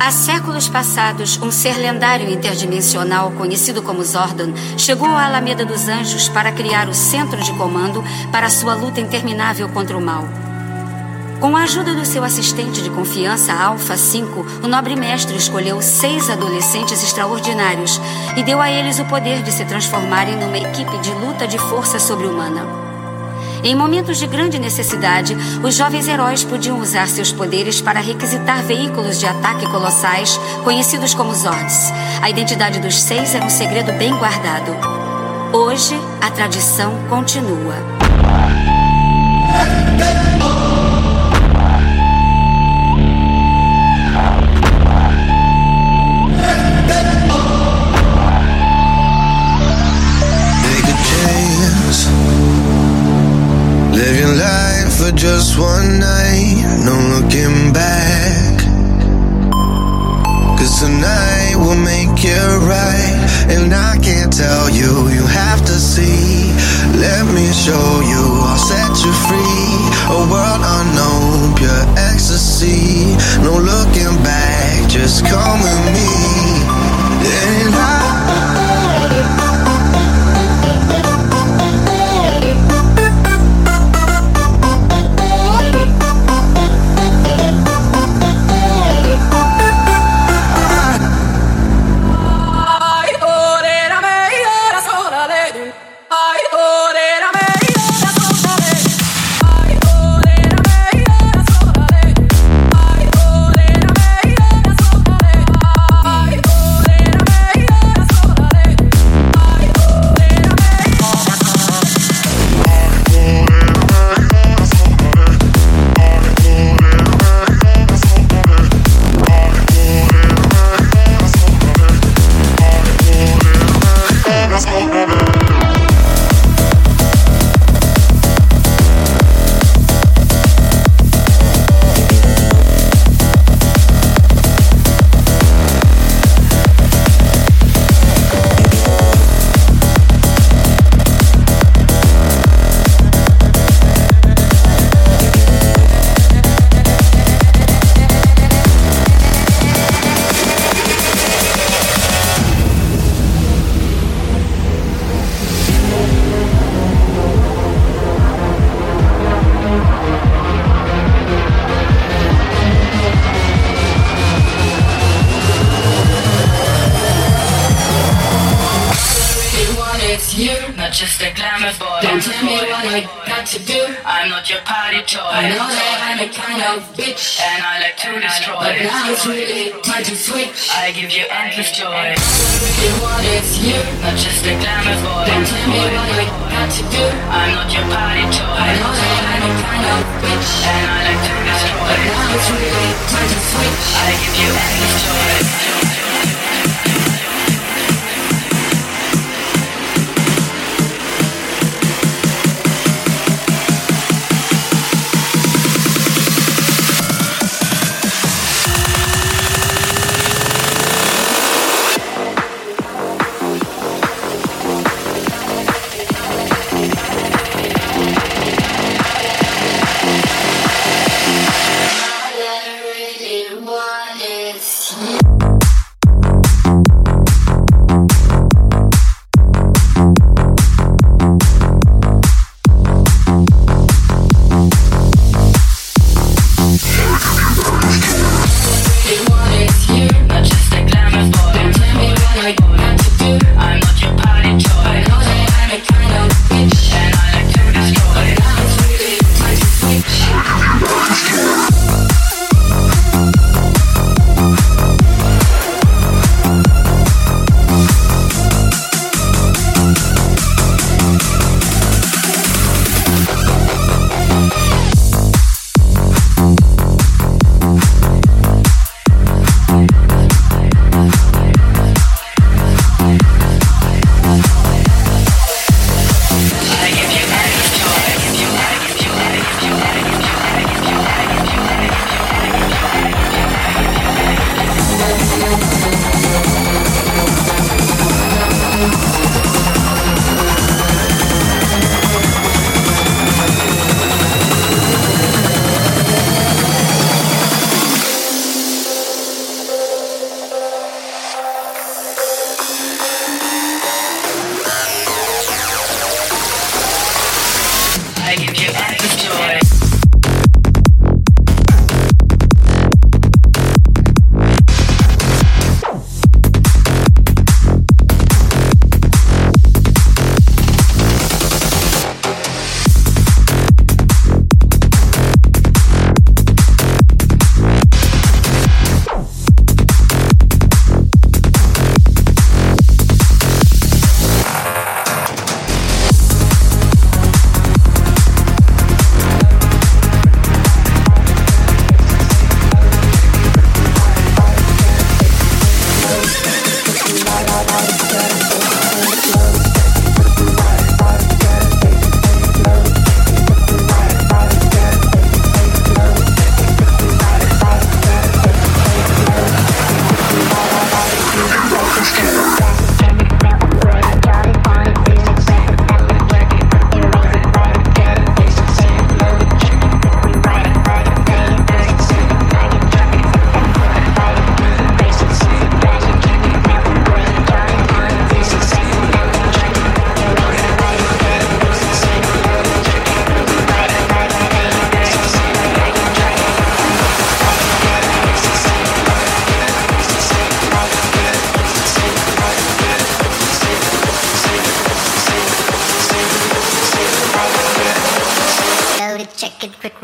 Há séculos passados, um ser lendário interdimensional conhecido como Zordon chegou à Alameda dos Anjos para criar o centro de comando para sua luta interminável contra o mal. Com a ajuda do seu assistente de confiança, Alpha 5, o nobre mestre escolheu 6 adolescentes extraordinários e deu a eles o poder de se transformarem numa equipe de luta de força sobre-humana. Em momentos de grande necessidade, os jovens heróis podiam usar seus poderes para requisitar veículos de ataque colossais, conhecidos como Zords. A identidade dos 6 era um segredo bem guardado. Hoje, a tradição continua. Live your life for just one night, no looking back. Cause tonight will make it right. And I can't tell you, you have to see. Let me show you, I'll set you free. A world unknown, pure ecstasy. No looking back, just come with me. And just a glamour boy. Don't tell me what I got to do. I'm not your party toy. I know that I'm a kind of bitch, and I like to destroy. But now it's really time to switch. I give you endless joy. You want it's you, not just a glamour boy. Don't tell me what I got to do. I'm not your party toy. I know that I'm a kind of bitch, and I like to destroy. But now it's really time to switch. I give you endless joy. All I really want is you.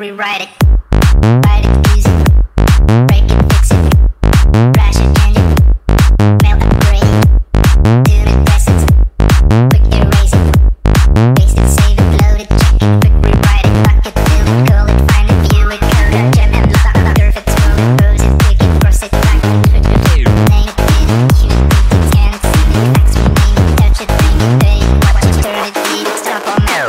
rewrite it. Write it easy. Break it, fix it. Crash it, change it. Mail upgrade. Tune it, test it. Quick erase it. Paste it, save it, load it, check it. Quick rewrite it, lock it, fill it, call it, find it, view it, code it, gem and lock it, curve it, scroll it, pose it, click it, cross it, back it, switch it, name it, pin it, shoot it, beat it, scan it, send it, fax, rename it, touch it, bring it, pay it, watch it, turn it, leave it, stop or mail.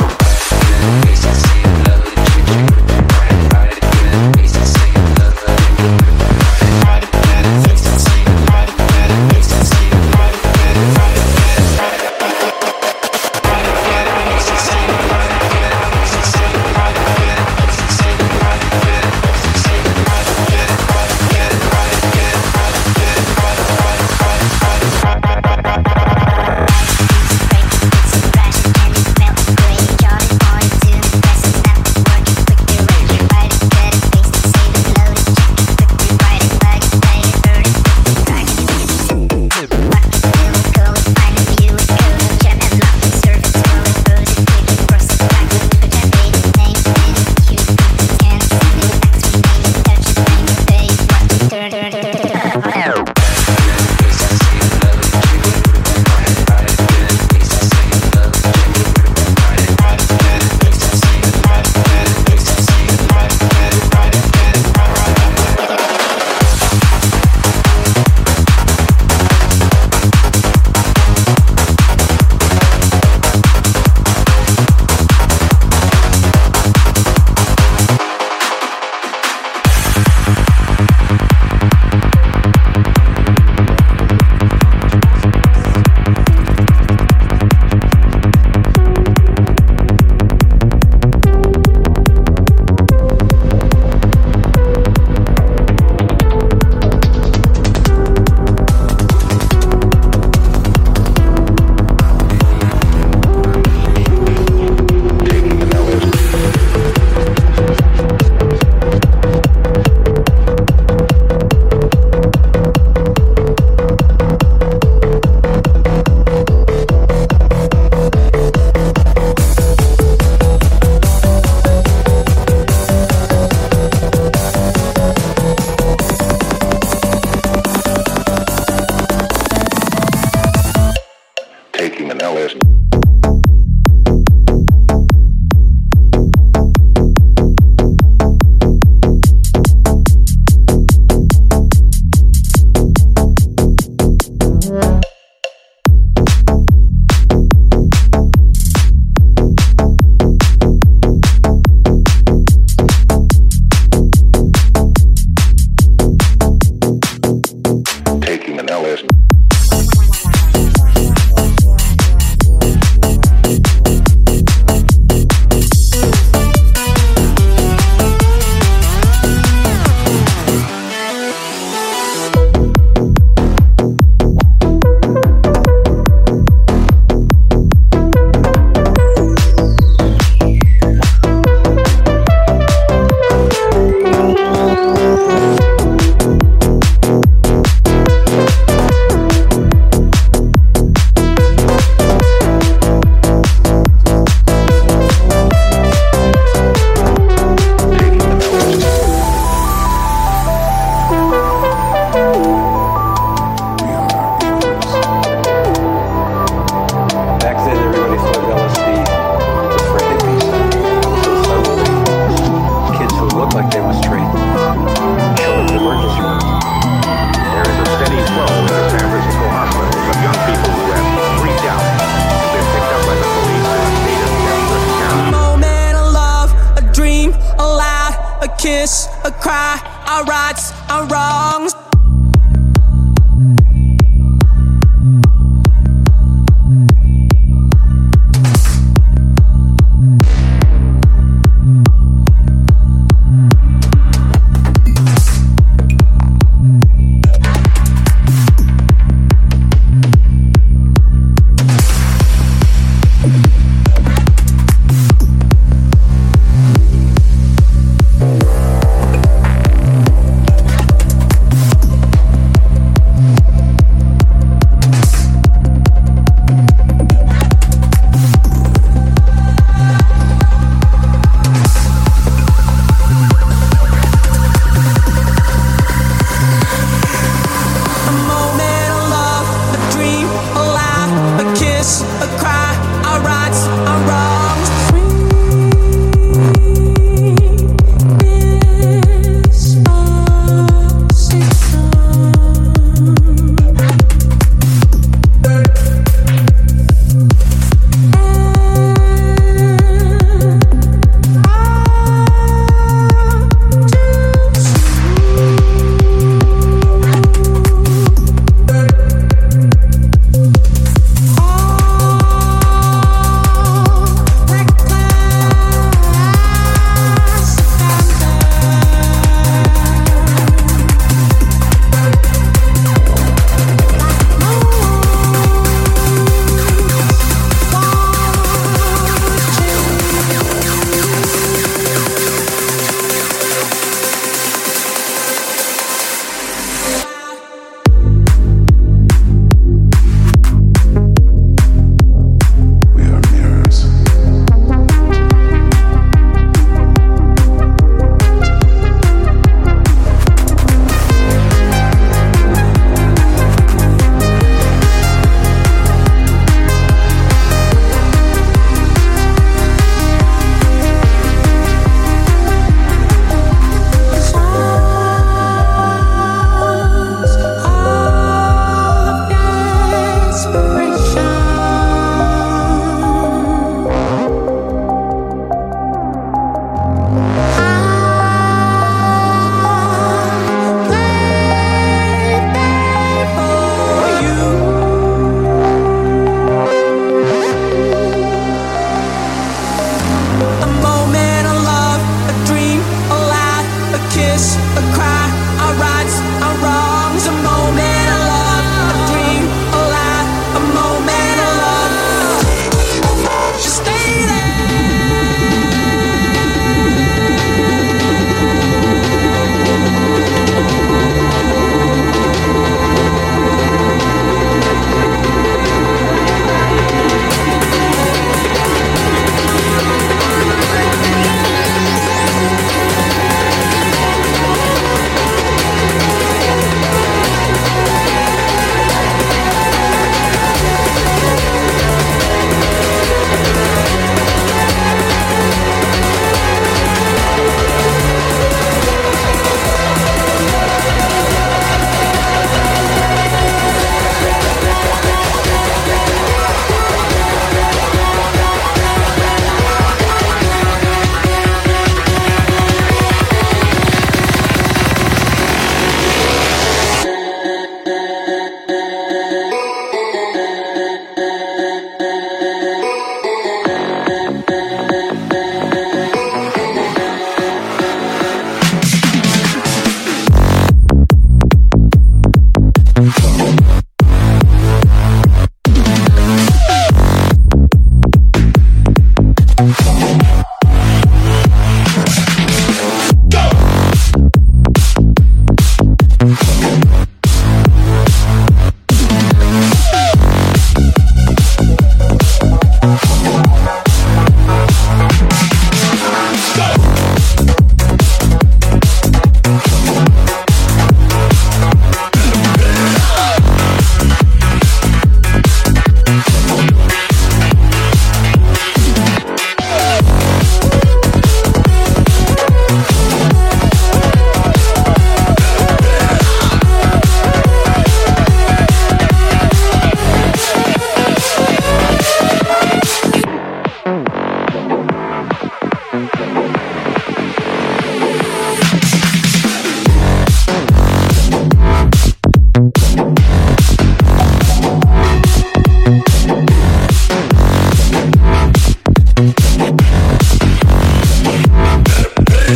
A cry, our rights, our wrongs.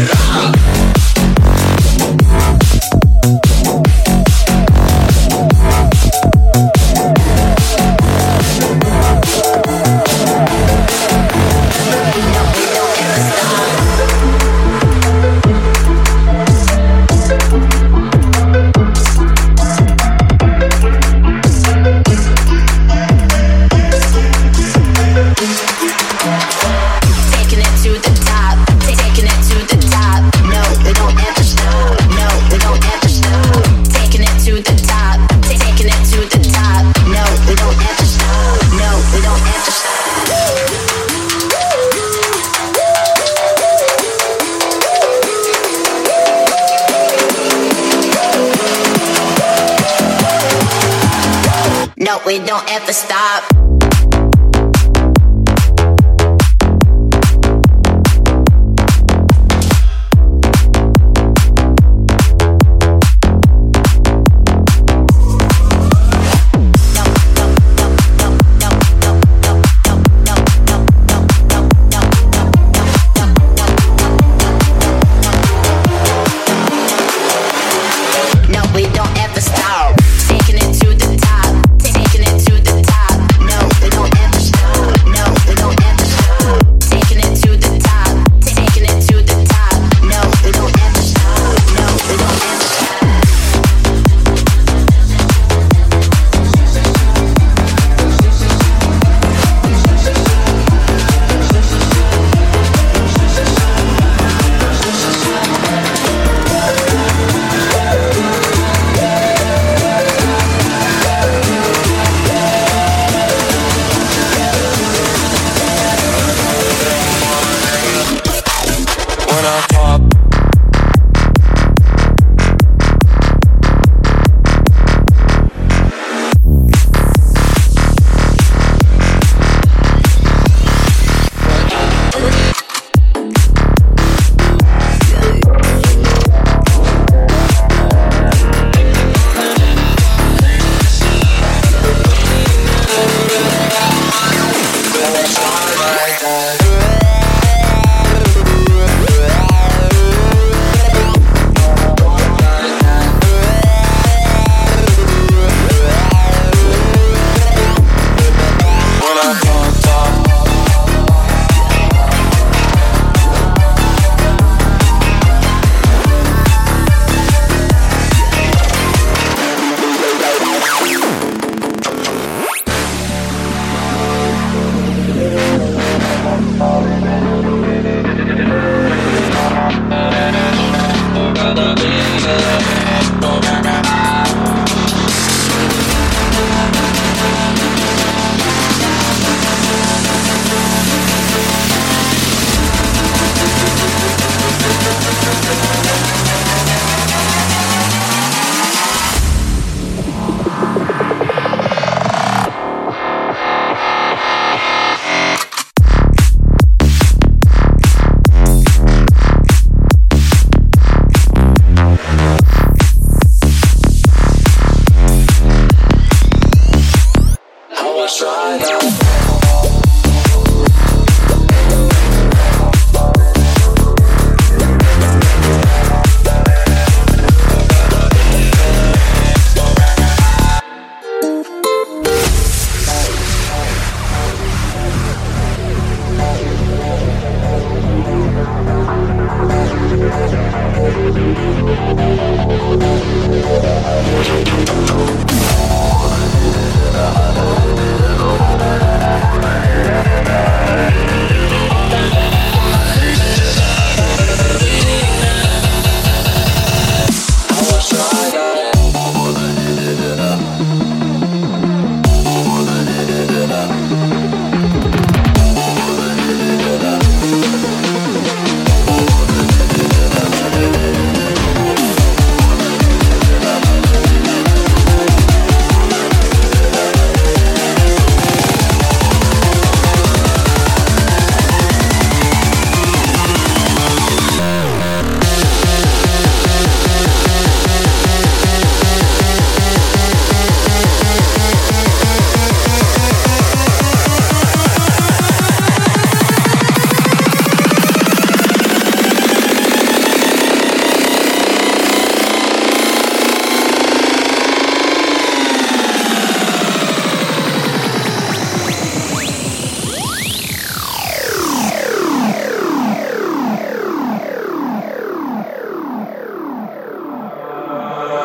No, we don't ever stop.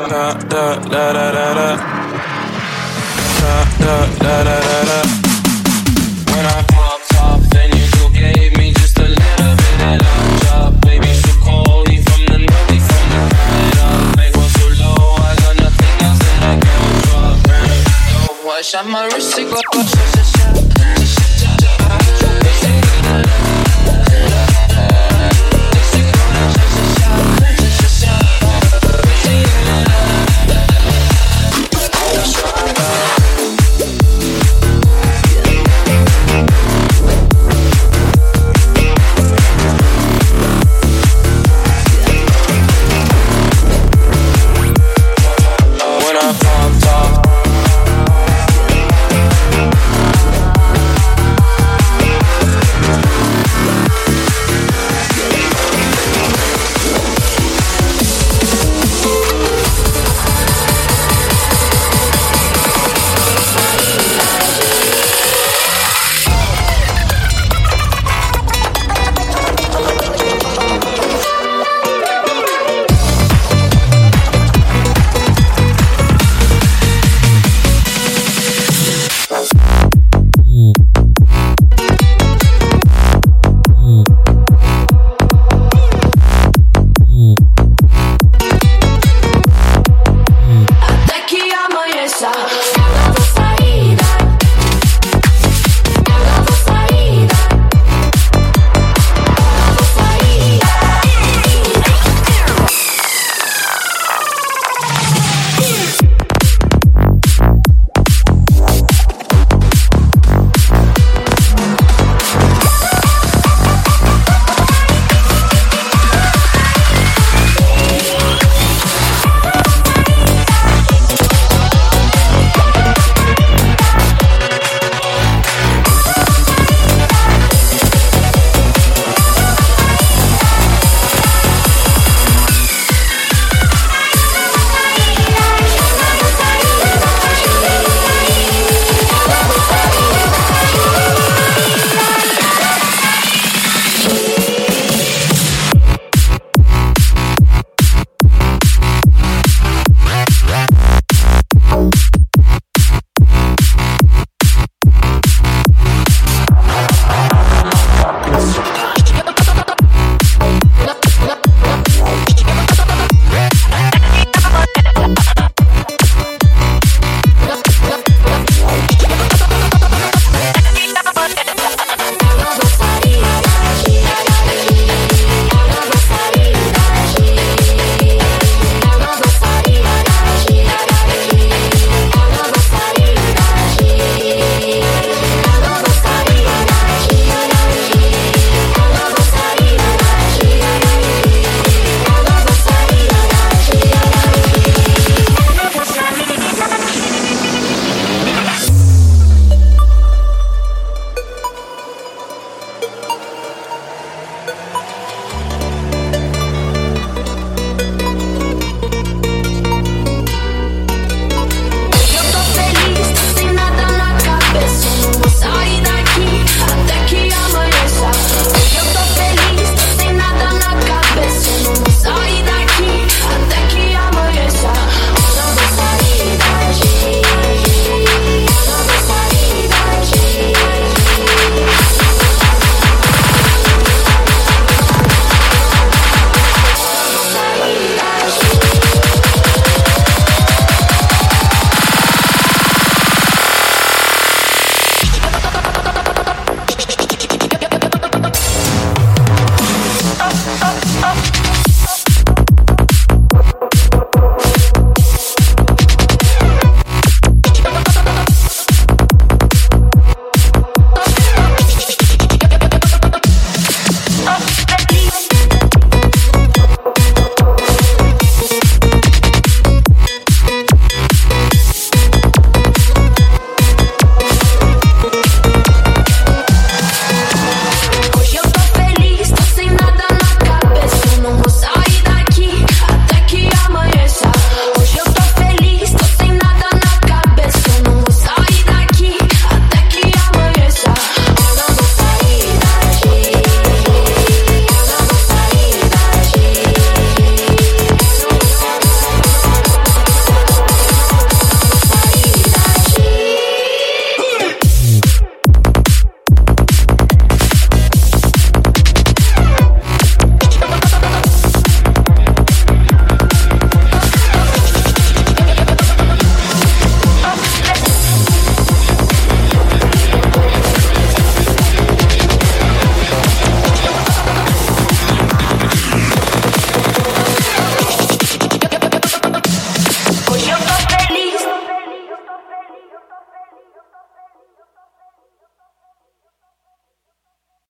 When I popped off, then you two gave me just a little bit of love drop. Baby, so cold, from the north, from the crowd. Make one so low, I got nothing else that I can drop. I shot my wrist, it go,